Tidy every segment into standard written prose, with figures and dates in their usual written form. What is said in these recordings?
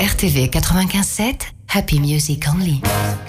RTV 95.7, Happy Music Only.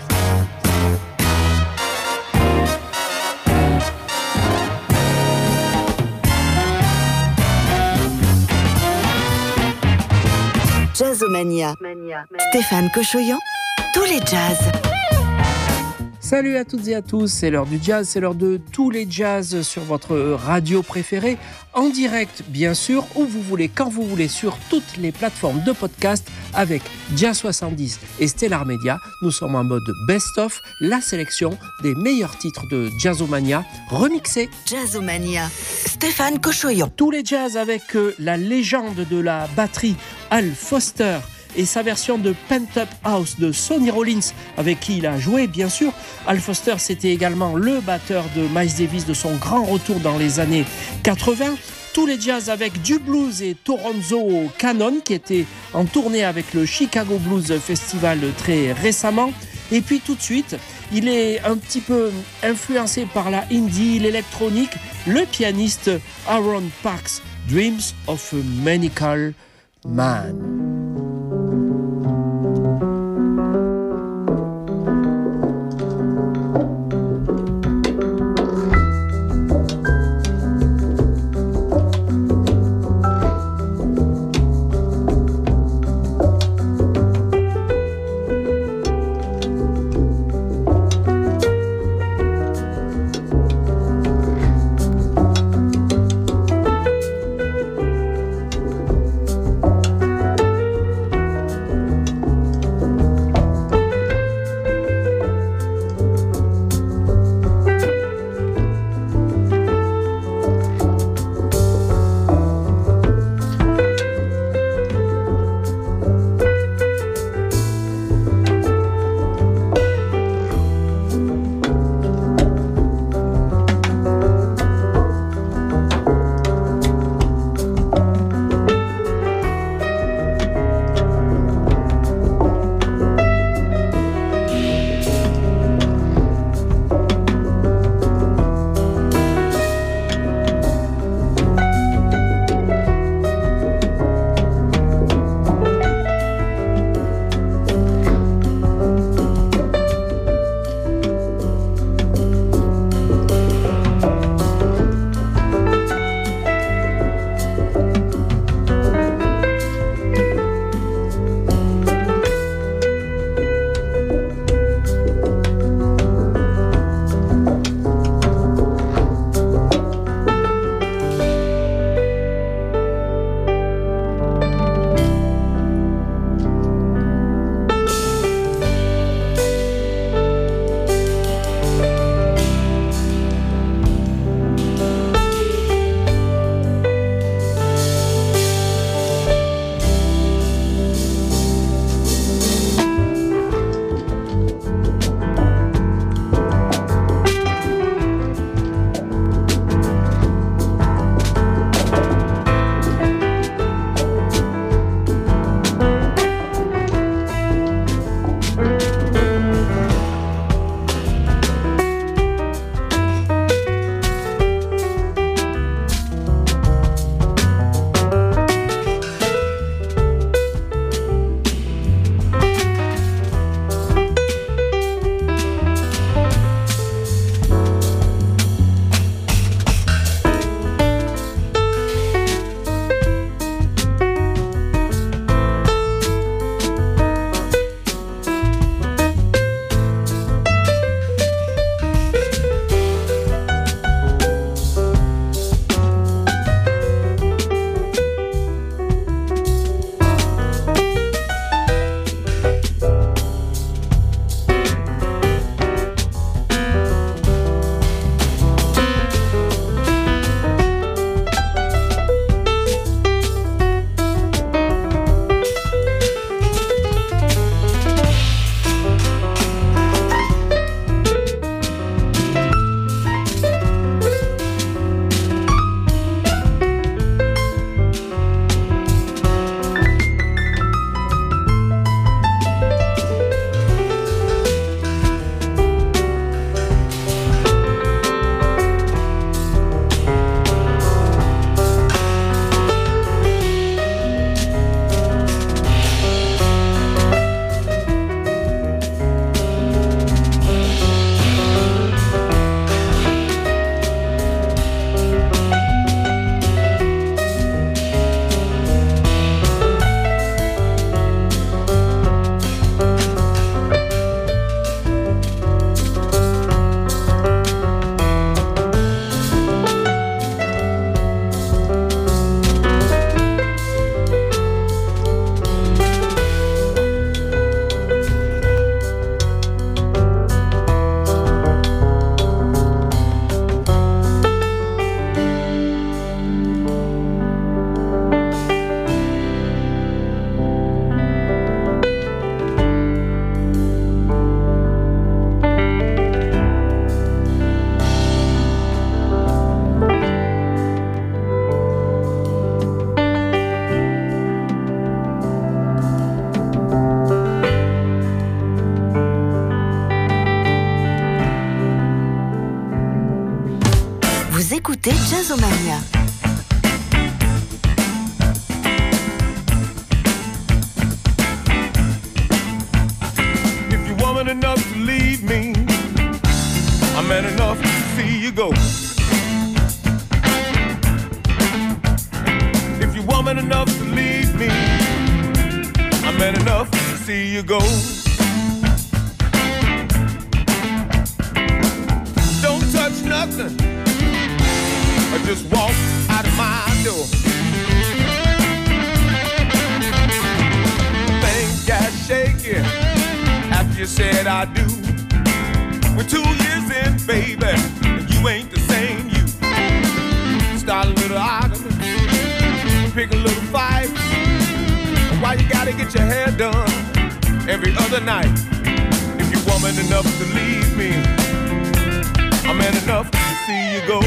Jazzomania. Stéphane Cochoyan, tous les jazz. Salut à toutes et à tous, c'est l'heure du jazz, c'est l'heure de tous les jazz sur votre radio préférée, en direct bien sûr, où vous voulez, quand vous voulez, sur toutes les plateformes de podcast avec Jazz 70 et Stellar Media. Nous sommes en mode best-of, la sélection des meilleurs titres de Jazzomania remixés. Jazzomania, Stéphane Cochoyan. Tous les jazz avec la légende de la batterie Al Foster et sa version de Pent Up House de Sonny Rollins, avec qui il a joué bien sûr. Al Foster, c'était également le batteur de Miles Davis de son grand retour dans les années 80. Tous les jazz avec du blues et Toronzo Cannon qui était en tournée avec le Chicago Blues Festival très récemment. Et puis tout de suite, il est un petit peu influencé par la indie, l'électronique, le pianiste Aaron Parks, Dreams of a Maniacal Man. Jazzomania. If you're woman enough to leave me, I'm man enough to see you go. If you're woman enough to leave me, I'm man enough to see you go. Don't touch nothing, or just walk out of my door. Things got shaky after you said I do. We're 2 years in, baby, and you ain't the same you. Start a little argument, pick a little fight. Why you gotta get your hair done every other night? If you're woman enough to leave me, I'm man enough to see you go.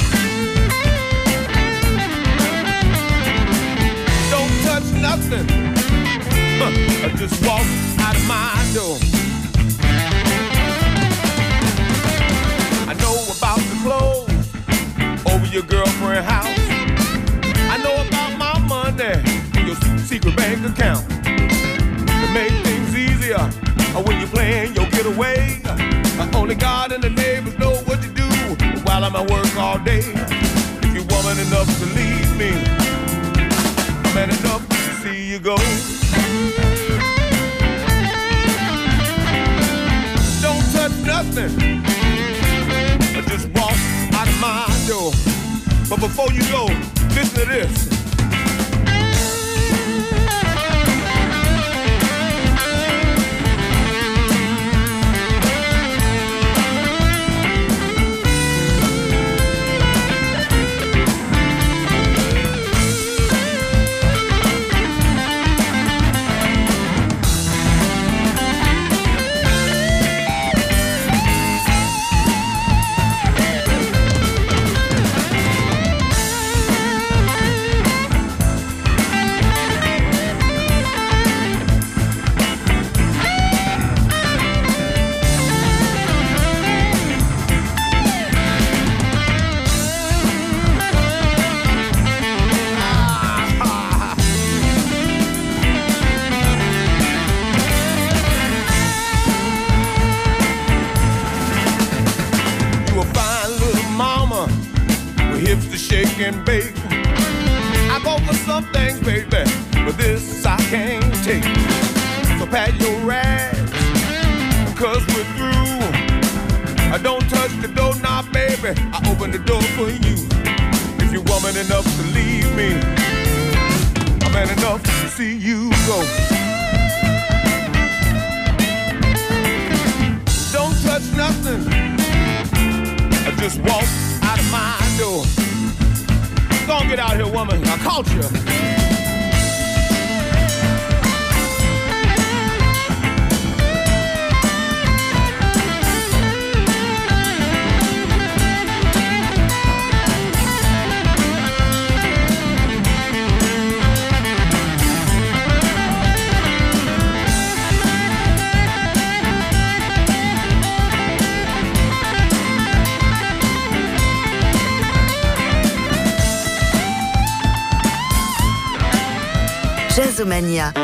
Don't touch nothing, or just walk out of my door. I know about the clothes over your girlfriend's house. I know about my money, your secret bank account. To make things easier, when you're playing your getaway, only God and the neighbors know what to do while I'm at work all day. If you're woman enough to leave me, I'm man enough to see you go. Don't touch nothing, just walk out of my door. But before you go, listen to this. And bake. I go for some things, baby, but this I can't take. So pat your rags, cause we're through. I don't touch the doorknob, baby, I open the door for you. If you're woman enough to leave me, I'm man enough to see you go. Don't touch nothing, I just walk out of my door. Don't get out here, woman. I caught you. Jazzomania.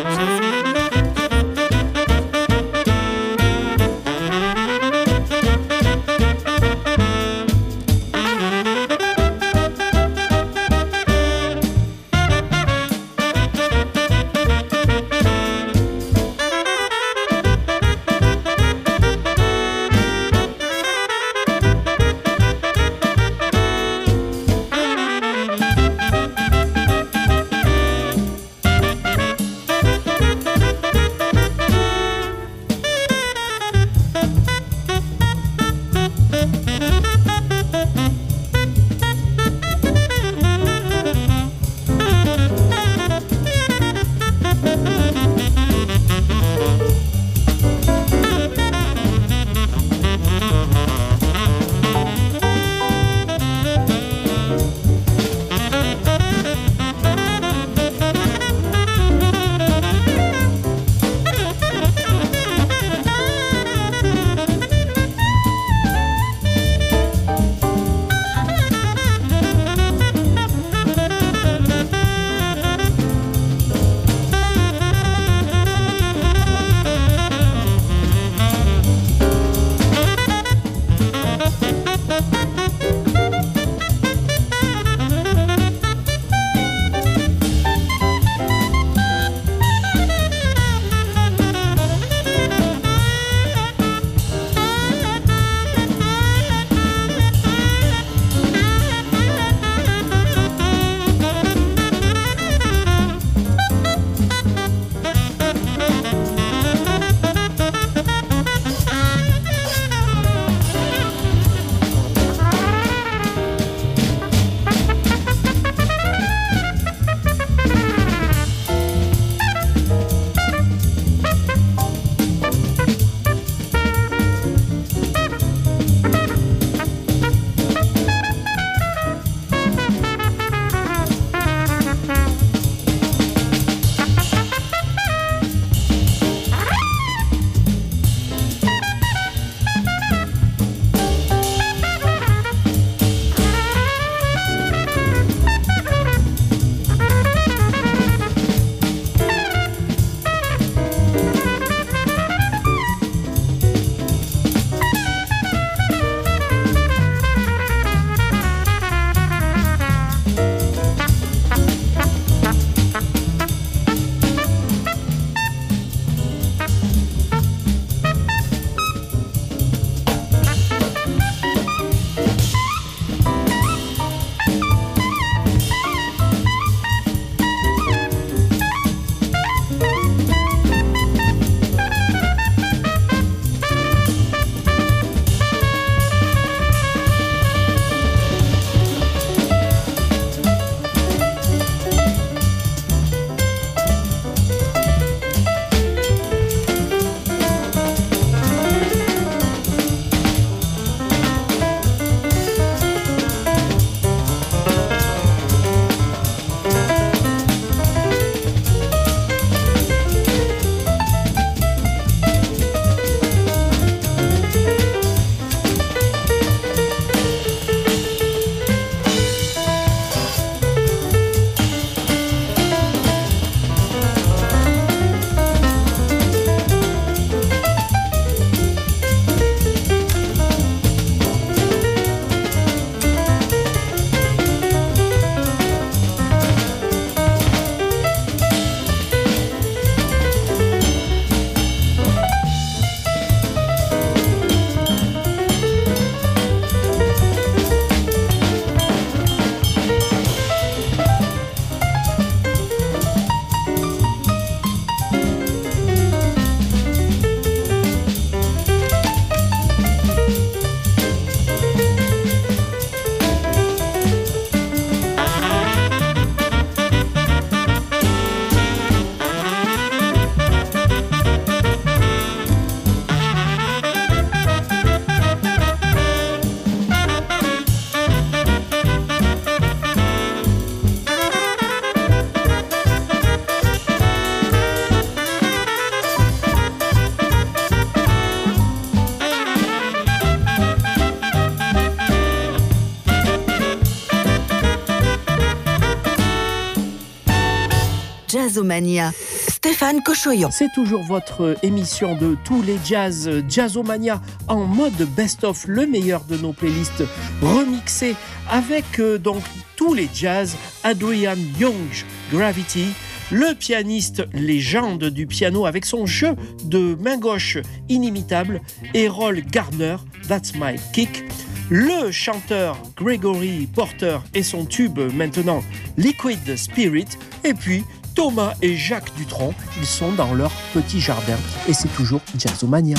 Jazzomania. Stéphane Cochoyan. C'est toujours votre émission de tous les jazz, Jazzomania, en mode best-of, le meilleur de nos playlists remixées avec donc tous les jazz, Adrian Young, Gravity, le pianiste légende du piano avec son jeu de main gauche inimitable, Errol Garner, That's My Kick, le chanteur Gregory Porter et son tube maintenant Liquid Spirit, et puis Thomas et Jacques Dutronc, ils sont dans leur petit jardin et c'est toujours Jazzomania.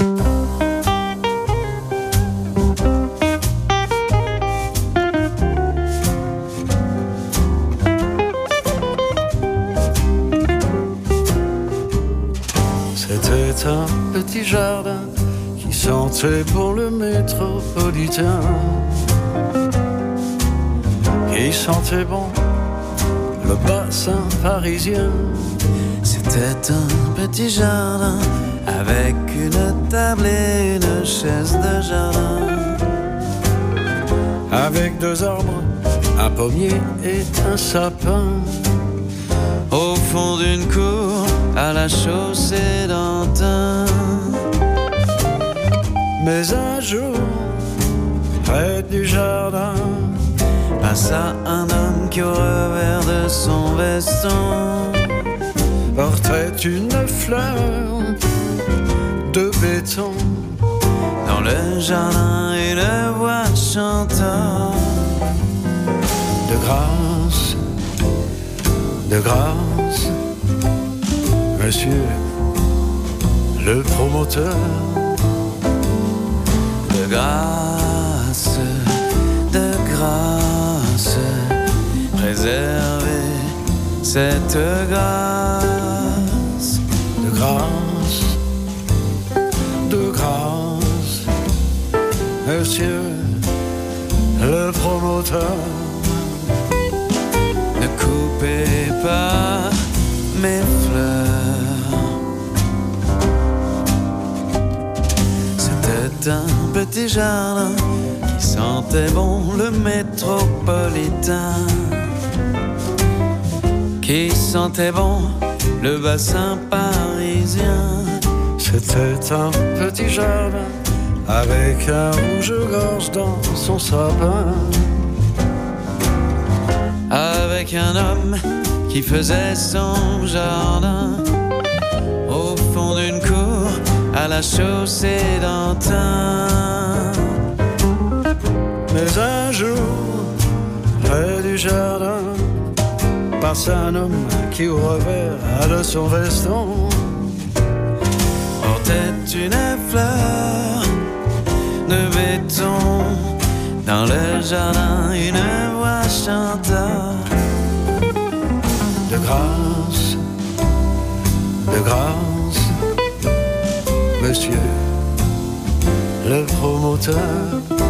C'était un petit jardin qui sentait bon le métropolitain, qui sentait bon le bassin parisien. C'était un petit jardin avec une table et une chaise de jardin, avec 2 arbres, un pommier et un sapin, au fond d'une cour à la chaussée d'Antin. Mais un jour, près du jardin, passa un homme qui au revers de son veston portait une fleur de béton. Dans le jardin, une voix chantant de grâce, monsieur le promoteur. De grâce, préservez cette grâce. De grâce, monsieur le promoteur. Ne coupez pas mes fleurs. C'était un petit jardin qui sentait bon le métropolitain, qui sentait bon le bassin parisien. C'était un petit jardin avec un rouge-gorge dans son sapin, avec un homme qui faisait son jardin au fond d'une cour à la chaussée d'Antin. Mais un jour, près du jardin, passe un homme qui au revers de son veston portait une fleur de béton. Dans le jardin, une voix chanta de grâce, monsieur le promoteur.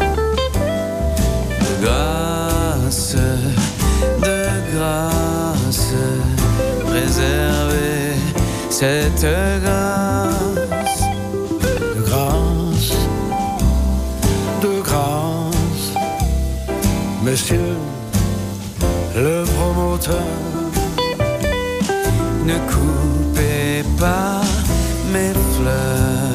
De grâce, préservez cette grâce. De grâce, monsieur le promoteur. Ne coupez pas mes fleurs.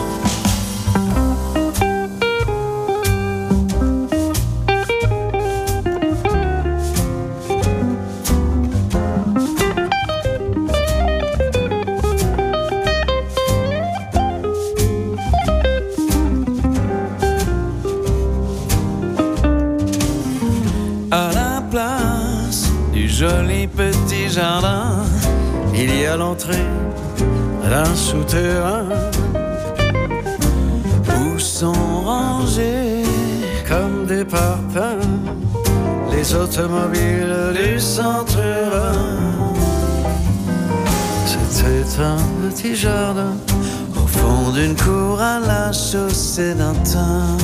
À la place du joli petit jardin, il y a l'entrée d'un souterrain où sont rangés comme des parpaings les automobiles du centre-urbain. C'était un petit jardin au fond d'une cour à la chaussée d'Antin.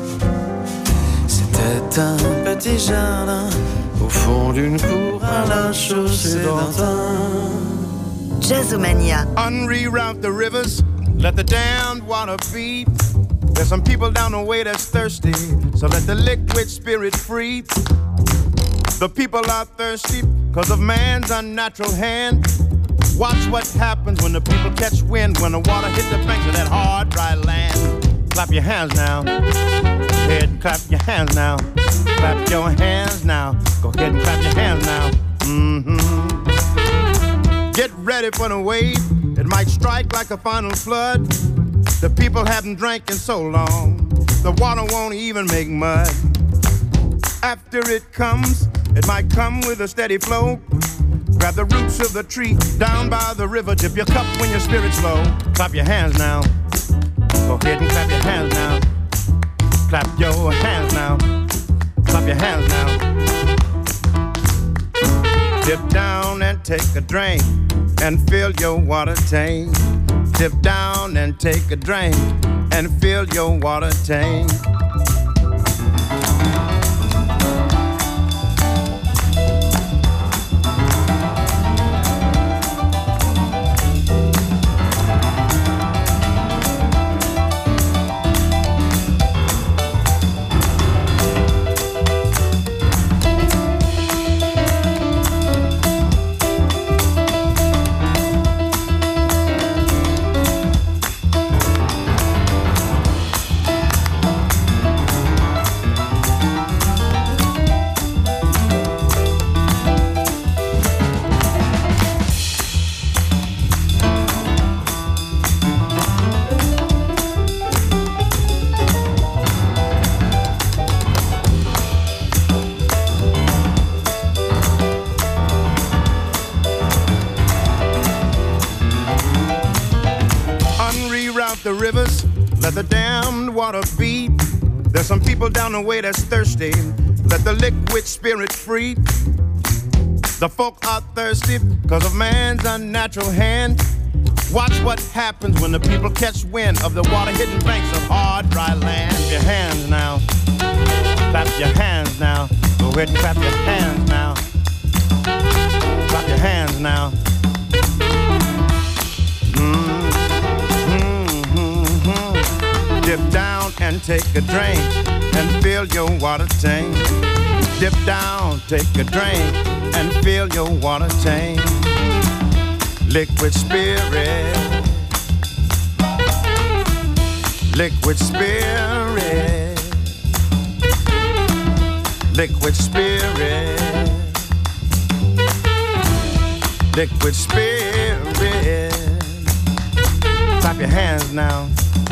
C'était un petit jardin au fond d'une cour à la chaussée d'Antin. Jazzomania. Unreroute the rivers, let the damned water be. There's some people down the way that's thirsty, so let the liquid spirit free. The people are thirsty because of man's unnatural hand. Watch what happens when the people catch wind, when the water hit the banks of that hard, dry land. Clap your hands now. Go ahead and clap your hands now. Clap your hands now. Go ahead and clap your hands now. Mm-hmm. Get ready for the wave. It might strike like a final flood. The people haven't drank in so long. The water won't even make mud. After it comes, it might come with a steady flow. Grab the roots of the tree down by the river. Dip your cup when your spirit's low. Clap your hands now. Go ahead and clap your hands now. Clap your hands now. Clap your hands now. Dip down and take a drink and fill your water tank. Dip down and take a drink and fill your water tank. The rivers, let the damned water beat. There's some people down the way that's thirsty. Let the liquid spirit free. The folk are thirsty because of man's unnatural hand. Watch what happens when the people catch wind of the water-hidden banks of hard, dry land. Clap your hands now. Clap your hands now. Go ahead and clap your hands now. Clap your hands now. Dip down and take a drink and fill your water tank. Dip down, take a drink and fill your water tank. Liquid spirit. Liquid spirit. Liquid spirit. Liquid spirit. Clap your hands now.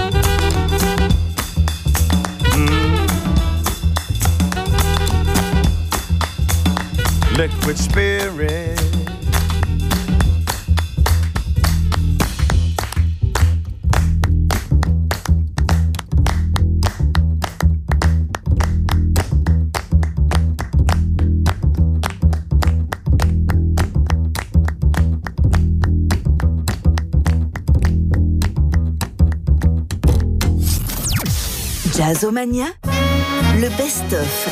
Liquid spirit. Jazzomania, le best-of.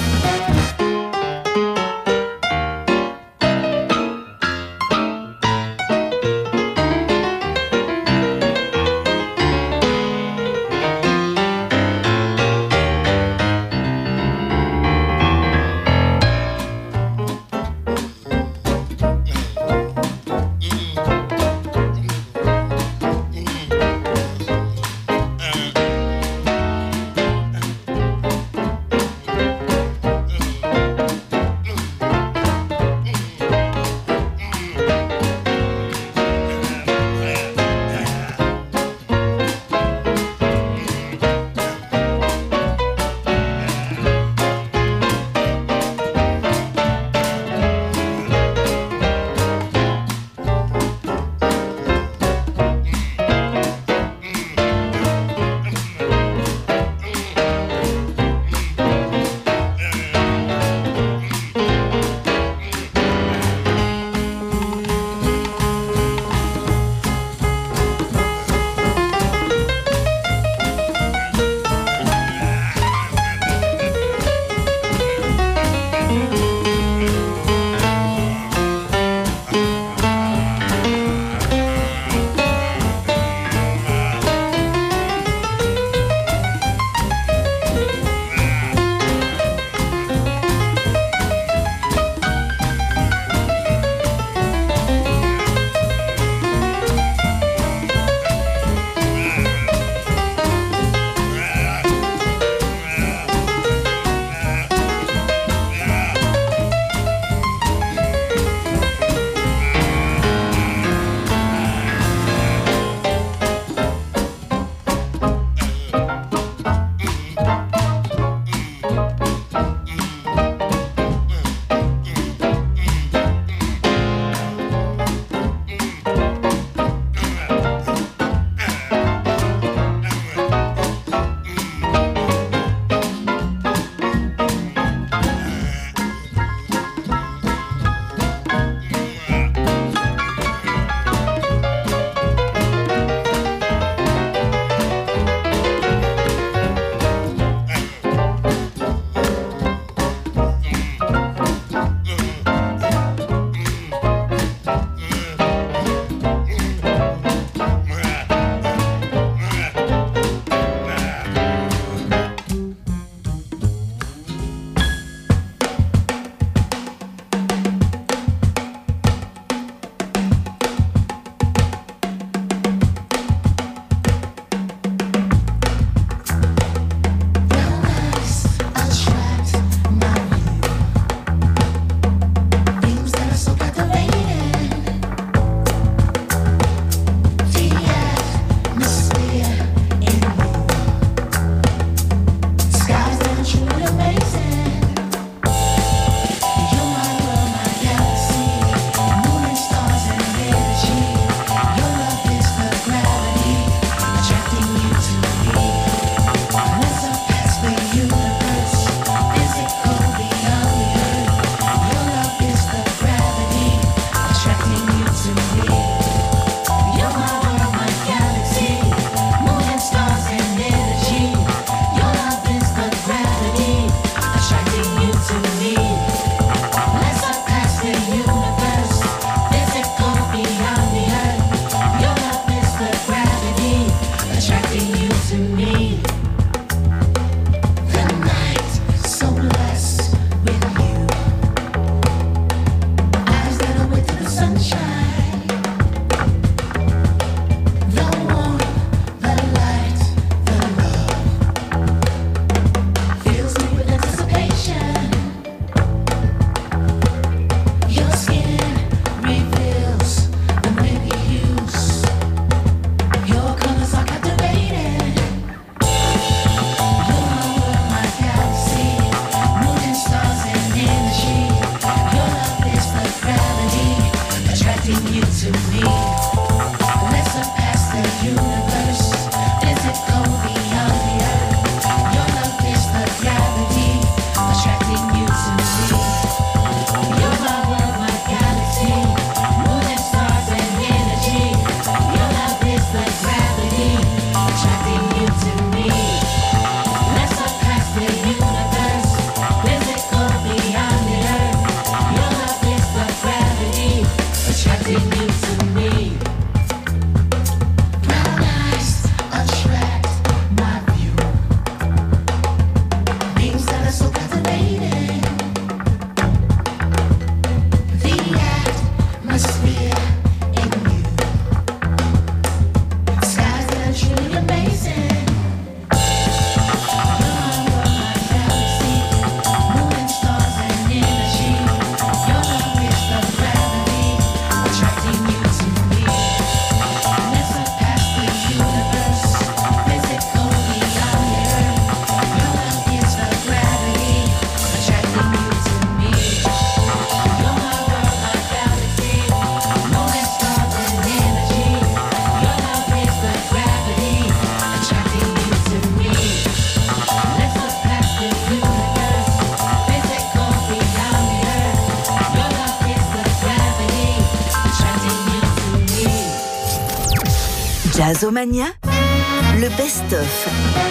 Jazzomania, le best-of.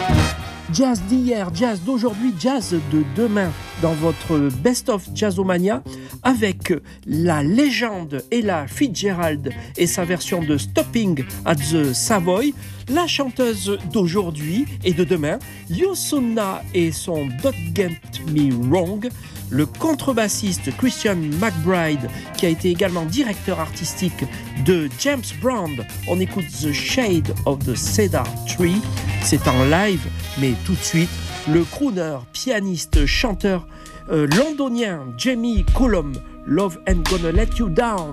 Jazz d'hier, jazz d'aujourd'hui, jazz de demain dans votre best-of Jazzomania avec la légende Ella Fitzgerald et sa version de Stopping at the Savoy, la chanteuse d'aujourd'hui et de demain, Yosunna et son Don't Get Me Wrong, le contrebassiste Christian McBride qui a été également directeur artistique de James Brown. On écoute The Shade of the Cedar Tree, c'est en live, mais tout de suite, le crooner, pianiste, chanteur londonien Jamie Cullum, Love Ain't Gonna Let You Down.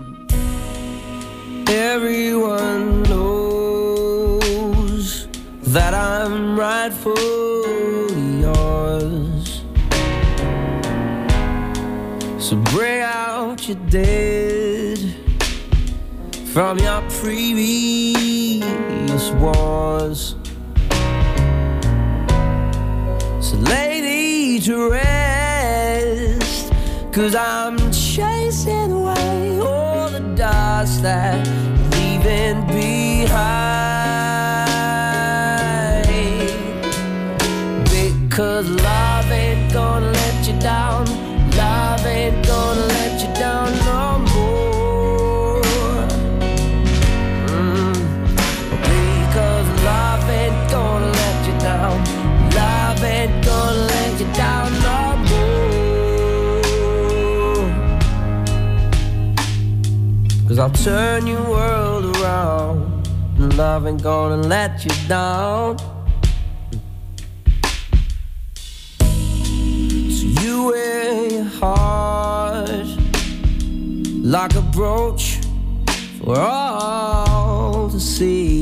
Everyone knows that I'm rightfully yours, so bring out your dead from your previous wars. So lady to rest, 'cause I'm chasing away all the dust that you're leaving behind. Because love ain't gonna let you down, love ain't gonna let you down no more. Because love ain't gonna let you down, love ain't gonna let you down no more. 'Cause I'll turn your world around, and love ain't gonna let you down. So you wear your heart like a brooch for all to see,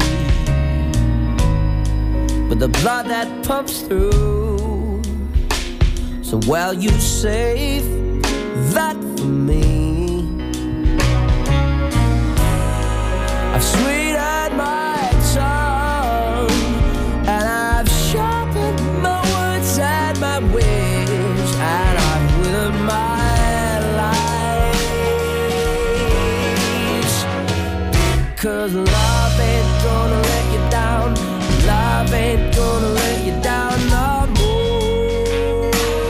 but the blood that pumps through, so well you save that for me. I've sweetened my tongue and I've sharpened my words and my wish, and I've withered my lies. Because love ain't gonna let you down, love ain't gonna let you down no more.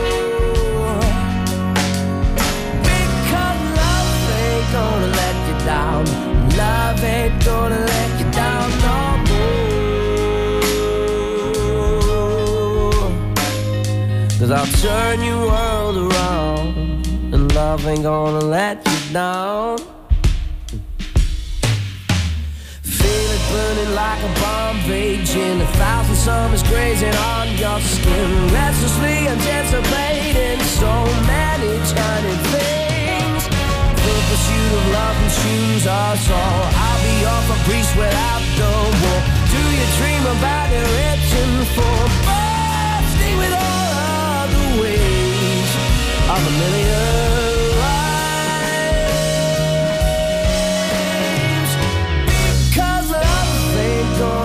Because love ain't gonna let you down, love ain't gonna let you down no more. 'Cause I'll turn your world around, and love ain't gonna let you down. Feel it burning like a bomb raging, 1,000 summers grazing on your skin, restlessly anticipating so many turning things. The pursuit of love consumes us all. I'll be your caprice without the war. Do you dream about your itching for bursting with all of the ways of a million lives? 'Cause love ain't gonna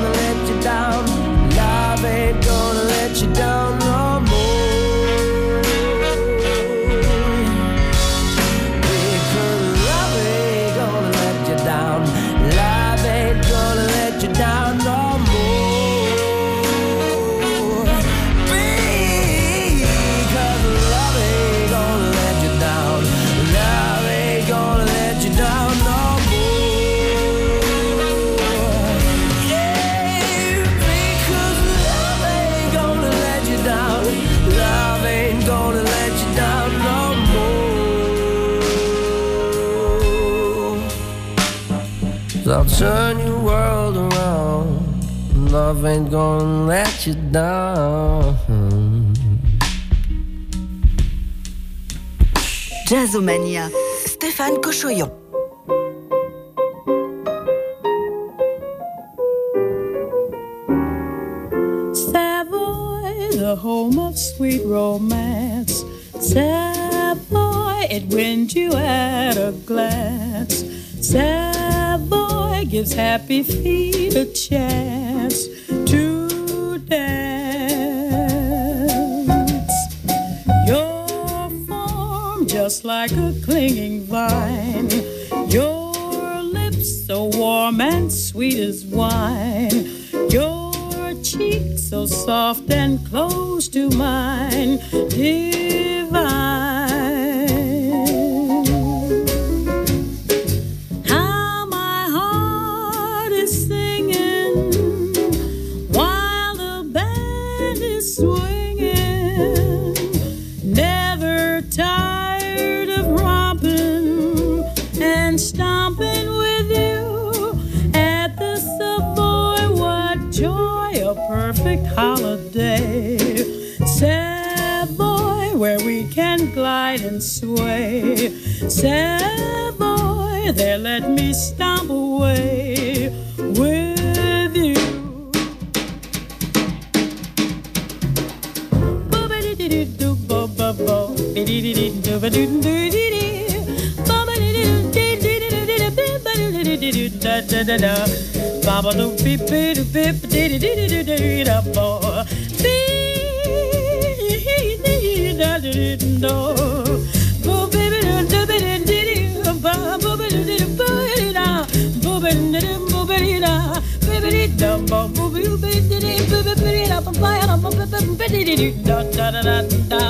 turn your world around. Love ain't gonna let you down. Jazzomania, Stéphane Cochoyon. Savoy, the home of sweet romance. Savoy, it wins you at a glance. Savoy gives happy feet a chance to dance. Your form just like a clinging vine. Your lips so warm and sweet as wine. Your cheeks so soft and close to mine. Divine. Perfect holiday, Savoy, where we can glide and sway. Savoy, there let me stomp away with you. Baba do beep beep beep dee dee dee dee dee da bo beep da dee do bo baby do baby dee ba bo baby dee bo da bo baby da baby da bo baby dee baby da ba ba da ba baby dee da da da da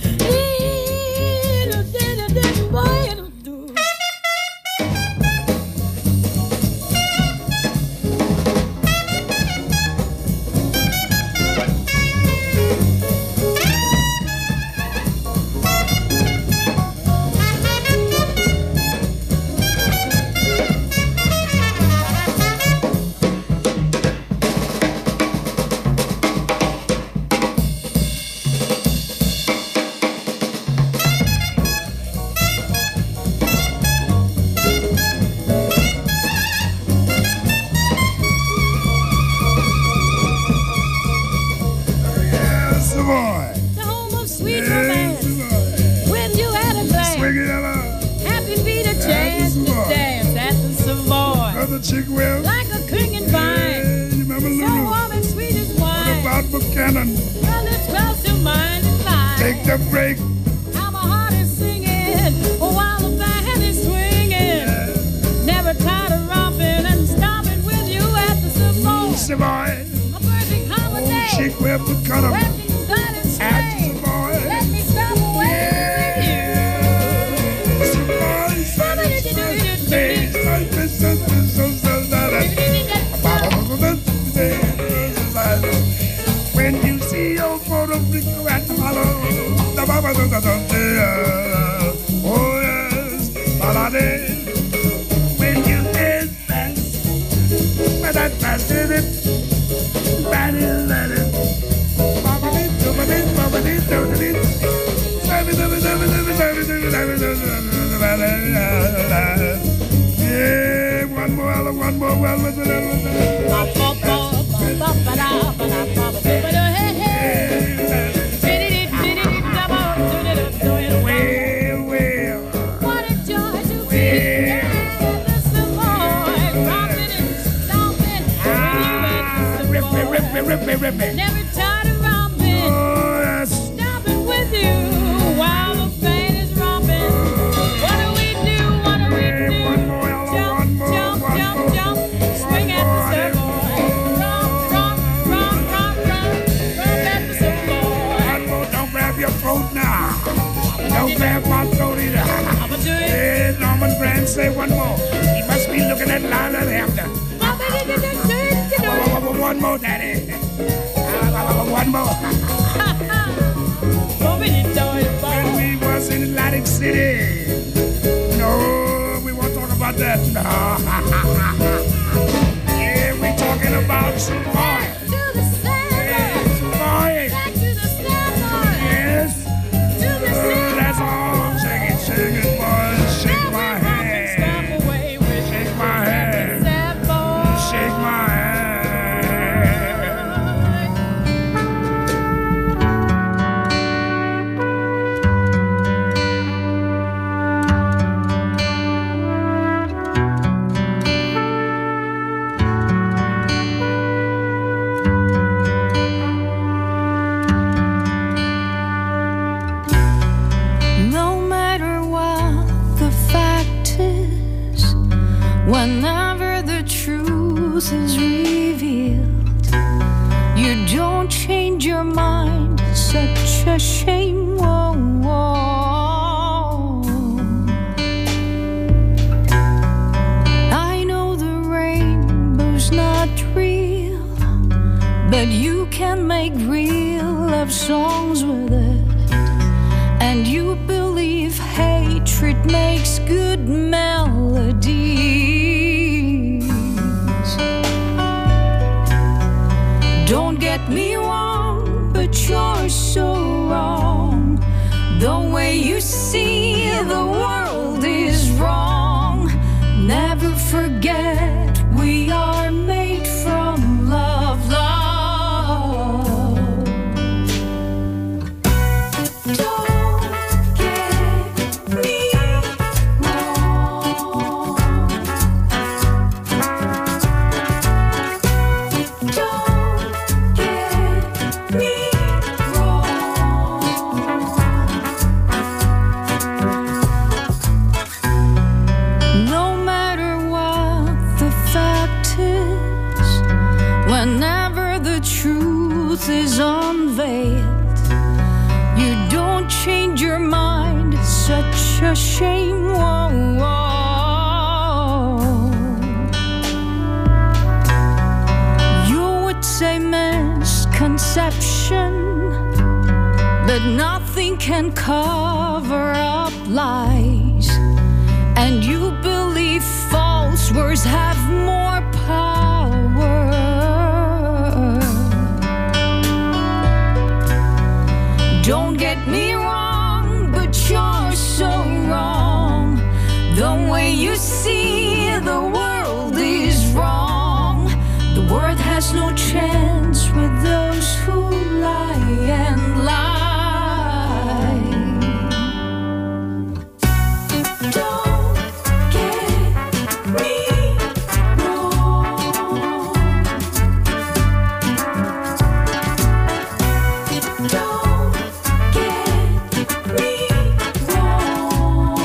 like a clinging vine, so warm and sweet as wine. What about Buchanan? Well, it's close to mine and mine. Take the break. How my heart is singing while the band is swinging. Never tired of romping and stomping with you at the Savoy. Savoy. A perfect holiday. Oh, chick, where Buchanan? Where can you glide and sway? Let me stop away with you. When you see your photo flicker at the hollow, oh yes, holiday. When you dance fast, but that fast is it, bad is that it. Yeah, one more. What a joy to be at the Savoy, romping and stomping with you at the Savoy. Never tired of romping, stomping with you while the band is romping. What do we do? Jump, swing at the Savoy. Romp at the Savoy. Don't grab your throat now. Don't grab my throat either. Hey, Norman Granz, say one more. He must be looking at Lila Hampton. One more, Daddy. One more. When we was in Atlantic City. No, we won't talk about that. No. thinking about some boy. Back to the sandbar. Boy, Back to the sandbar. yes. To the sandbar. That's all I'm singing, singing, boy. Shake my hand. Stop away with Shake my hand. sad boy. Shake my hand. No matter what the fact is, whenever the truth is revealed, you don't change your mind. Such a shame. Whoa, whoa. I know the rainbow's not real, but you can make real love songs with it. And you believe hatred makes good melodies. Don't get me wrong, but you're so wrong. The way you see the world is wrong. Never forget we are made from love, love. Don't get me wrong. Don't get me wrong. No matter what the fact is, whenever the truth is unveiled, you don't change your mind. It's such a shame. Whoa, whoa. You would say misconception, but nothing can cover up lies. And you believe false words have more power. Don't get me wrong, but you're so wrong. The way you see the world is wrong. The world has no chance with those who lie and lie. Don't get me wrong. Don't get me wrong.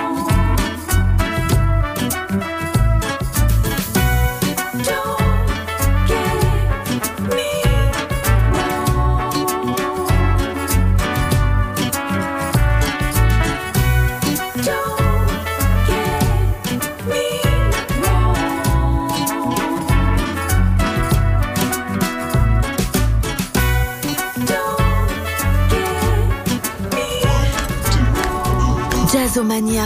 Don't get me Jazzomania.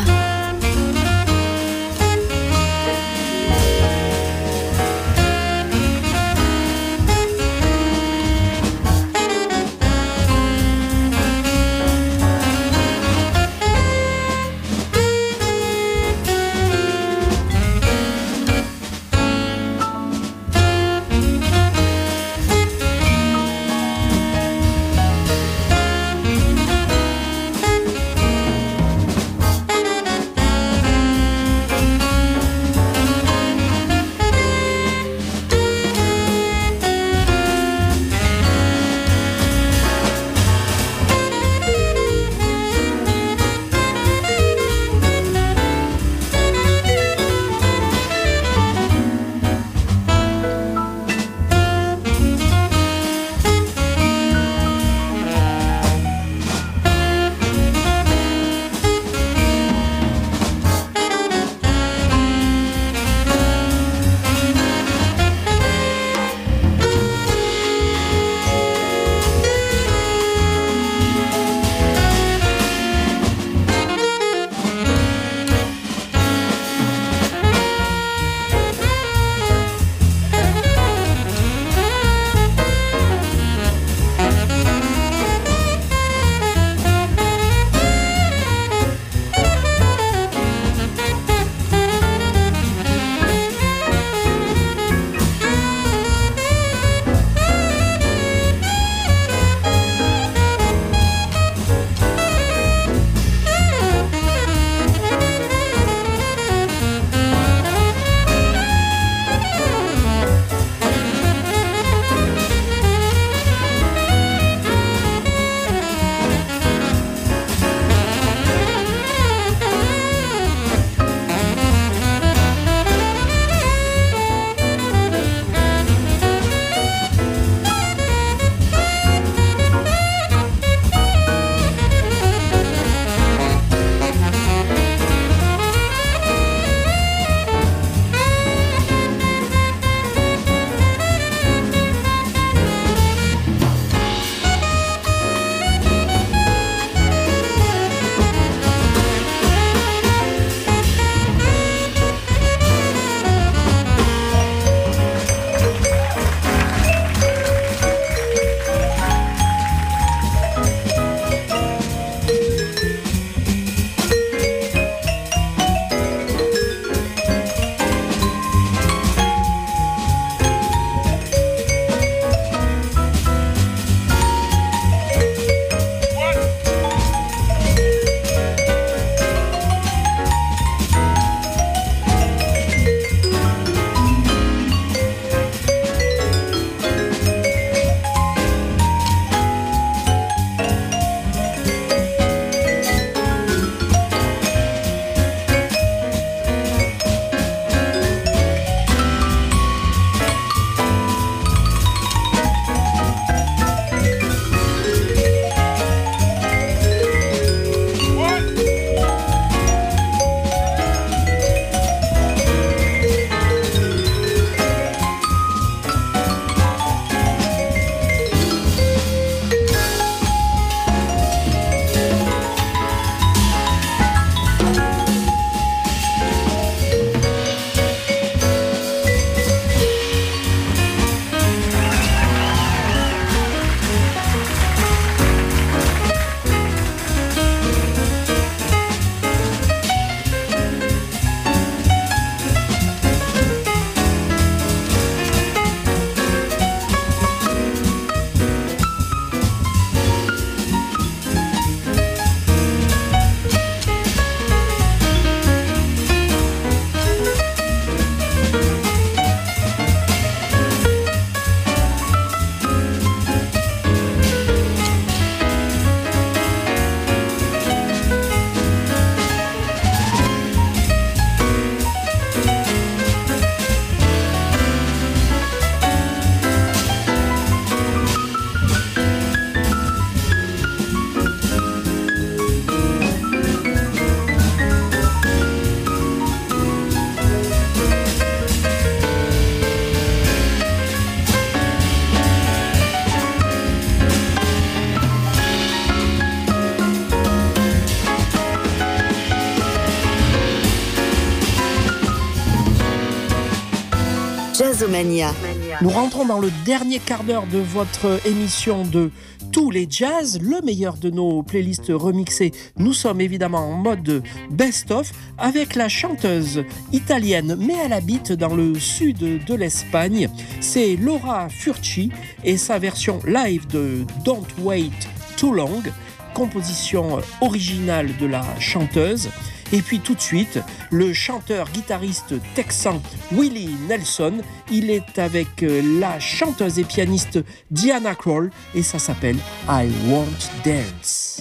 Jazzomania. Nous rentrons dans le dernier quart d'heure de votre émission de Tous les Jazz, le meilleur de nos playlists remixées. Nous sommes évidemment en mode best-of avec la chanteuse italienne, mais elle habite dans le sud de l'Espagne. C'est Laura Furci et sa version live de Don't Wait Too Long, composition originale de la chanteuse. Et puis tout de suite, le chanteur-guitariste texan Willie Nelson, il est avec la chanteuse et pianiste Diana Krall et ça s'appelle I Won't Dance.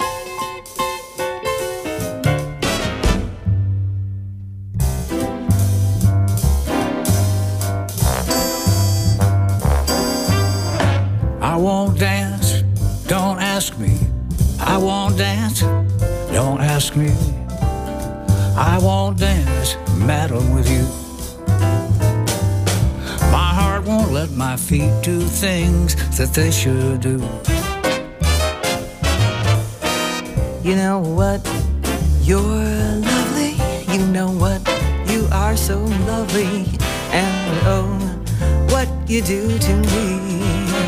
I won't dance, don't ask me. I won't dance, don't ask me. I won't dance, madam, with you. My heart won't let my feet do things that they should do. You know what? You're lovely. You know what? You are so lovely. And oh, what you do to me.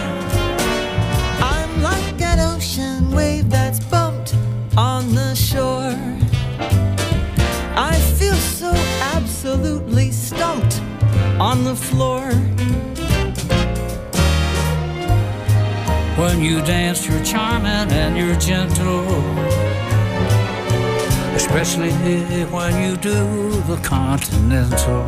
I'm like an ocean wave that's bumped on the shore. I feel so absolutely stumped on the floor. When you dance, you're charming and you're gentle, especially when you do the continental.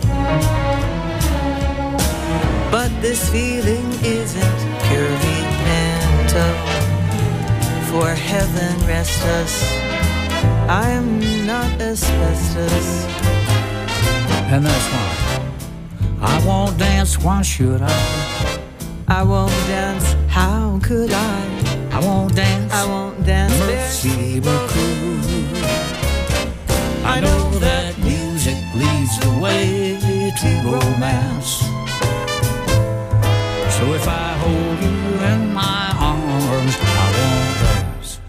But this feeling isn't purely mental. For heaven rest us, I'm not asbestos. And that's why I won't dance, why should I? I won't dance, how could I won't dance, I won't dance. Merci beaucoup. I know that music leads the way to romance. So if I hold you in my arms, I won't dance.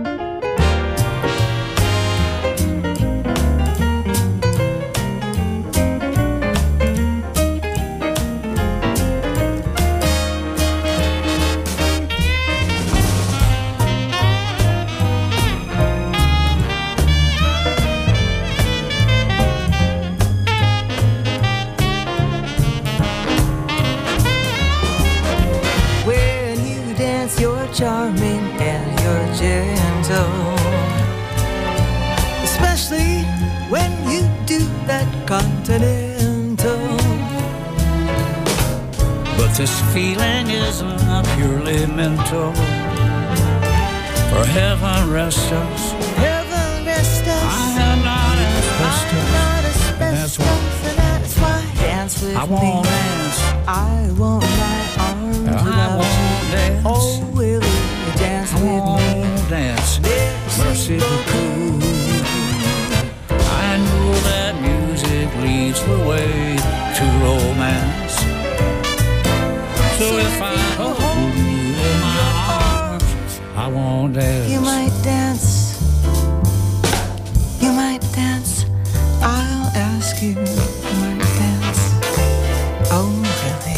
Charming and you're gentle, especially when you do that continental. But this feeling isn't purely mental. For heaven rest us, heaven rest us. I am not asbestos. That's why, that's why. Dance with I won't me. Dance. I won't my arms I won't dance. Oh, will you dance with me? Dance. Merci beaucoup. I know that music leads the way to romance. So if I hold you in my arms, I won't dance. You might dance. You might dance. I'll ask you. You might dance. Oh, really?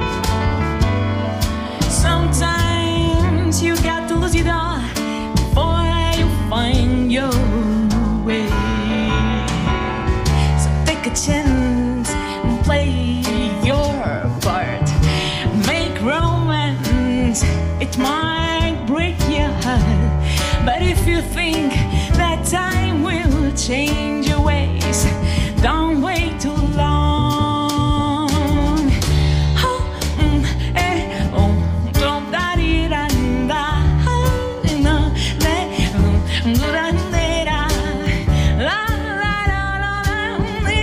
Sometimes you got to lose it all before change your ways. Don't wait too long. Oh, oh, don't da di da da. No, do da da. La la la la la.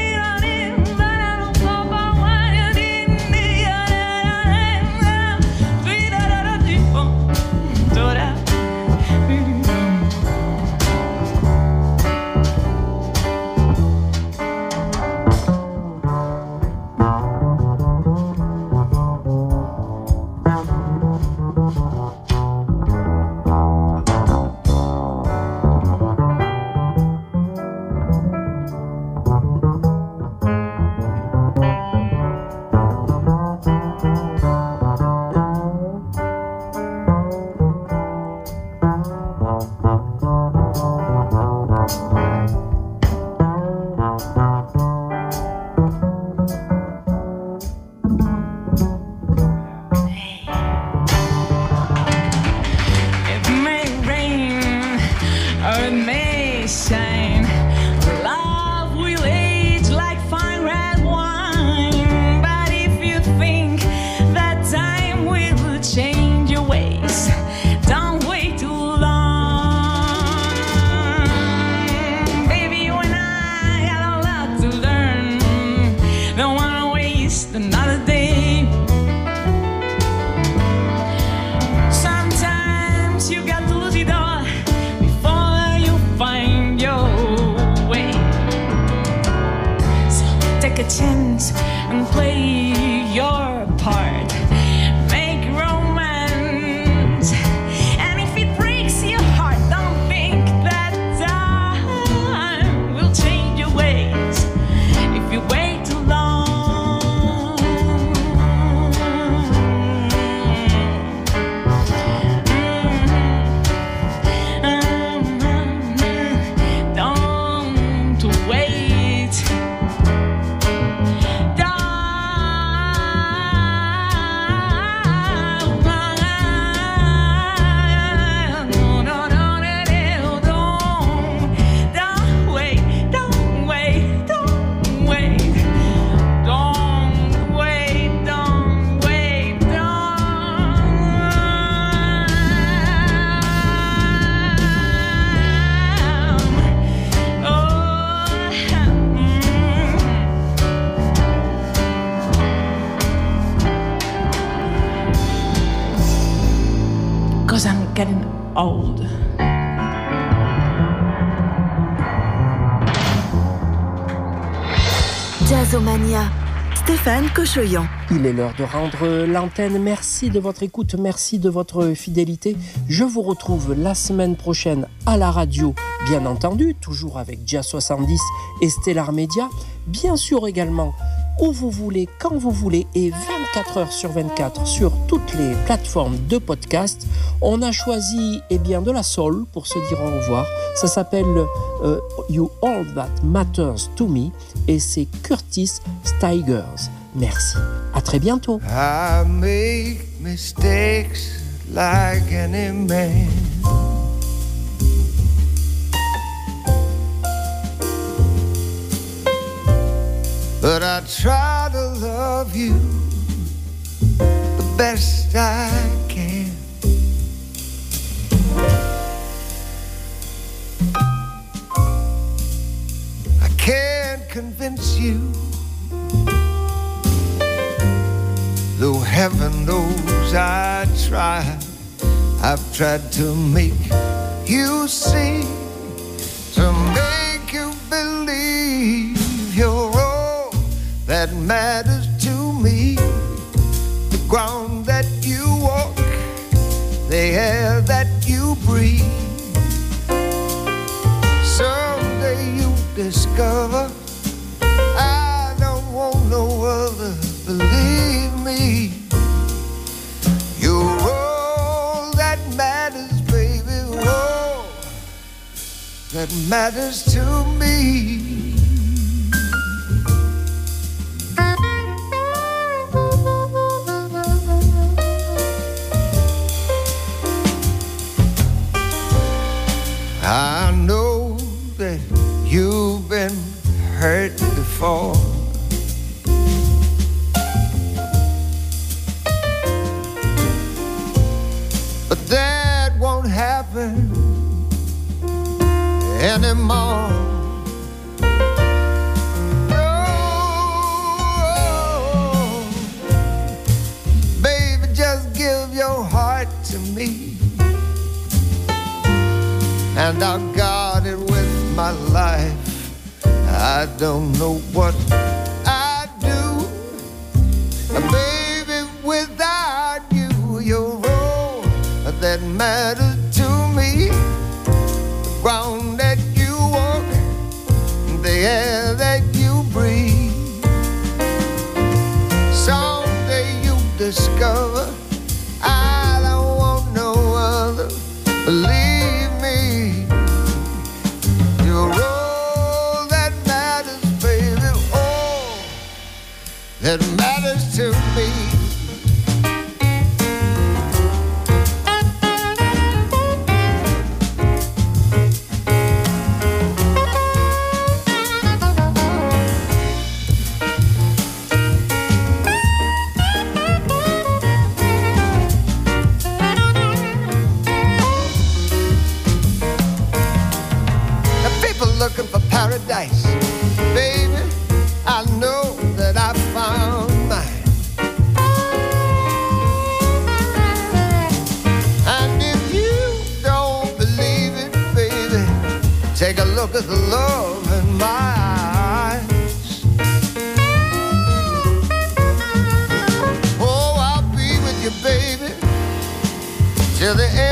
getting old. Jazzomania, Stéphane Cochoyan. Il est l'heure de rendre l'antenne. Merci de votre écoute, merci de votre fidélité. Je vous retrouve la semaine prochaine à la radio, bien entendu, toujours avec Jazz 70 et Stellar Media. Bien sûr également, où vous voulez, quand vous voulez, et 24 heures sur 24 sur toutes les plateformes de podcast. On a choisi de la soul pour se dire au revoir. Ça s'appelle You All That Matters to Me et c'est Curtis Stigers. Merci. À très bientôt. I make mistakes like any man. But I try to love you the best I can. I can't convince you, though heaven knows I tried. I've tried to make you see, to make you believe you're all that matters to me. The ground that you walk, the air that you breathe. Someday you discover I don't want no other, believe me. You're all that matters, baby, all that matters to me. I know that you've been hurt before. But that won't happen anymore. No, baby, just give your heart to me, and I'll guard it with my life. I don't know what I'd do, baby, without you. You're all that matters to me. The ground that you walk, the air that you breathe. Someday you discover I don't want no other. Believe me, you're all that matters, baby. All that matters to me. Looking for paradise, baby, I know that I found mine. And if you don't believe it, baby, take a look at the love in my eyes. Oh, I'll be with you, baby, till the end